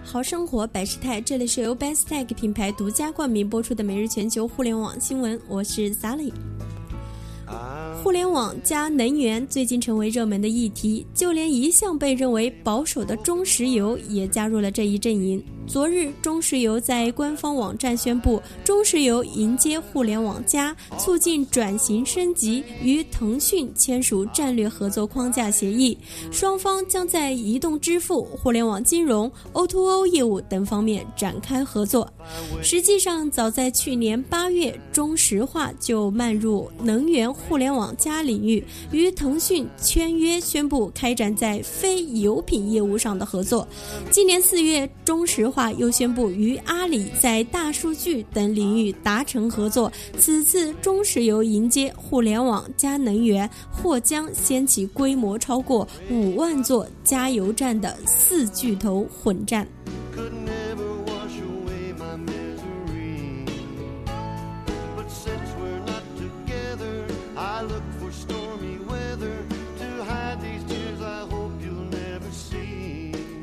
好生活百事态，这里是由 Bestech 品牌独家冠名播出的每日全球互联网新闻，我是 Sally。互联网加能源最近成为热门的议题，就连一向被认为保守的中石油也加入了这一阵营。昨日，中石油在官方网站宣布，中石油迎接互联网加，促进转型升级，与腾讯签署战略合作框架协议，双方将在移动支付、互联网金融、O2O 业务等方面展开合作。实际上，早在去年8月，中石化就迈入能源互联网加领域，与腾讯签约宣布开展在非油品业务上的合作。今年4月，中石化又宣布与阿里在大数据等领域达成合作，此次中石油迎接互联网加能源，或将掀起规模超过5万座加油站的4巨头混战。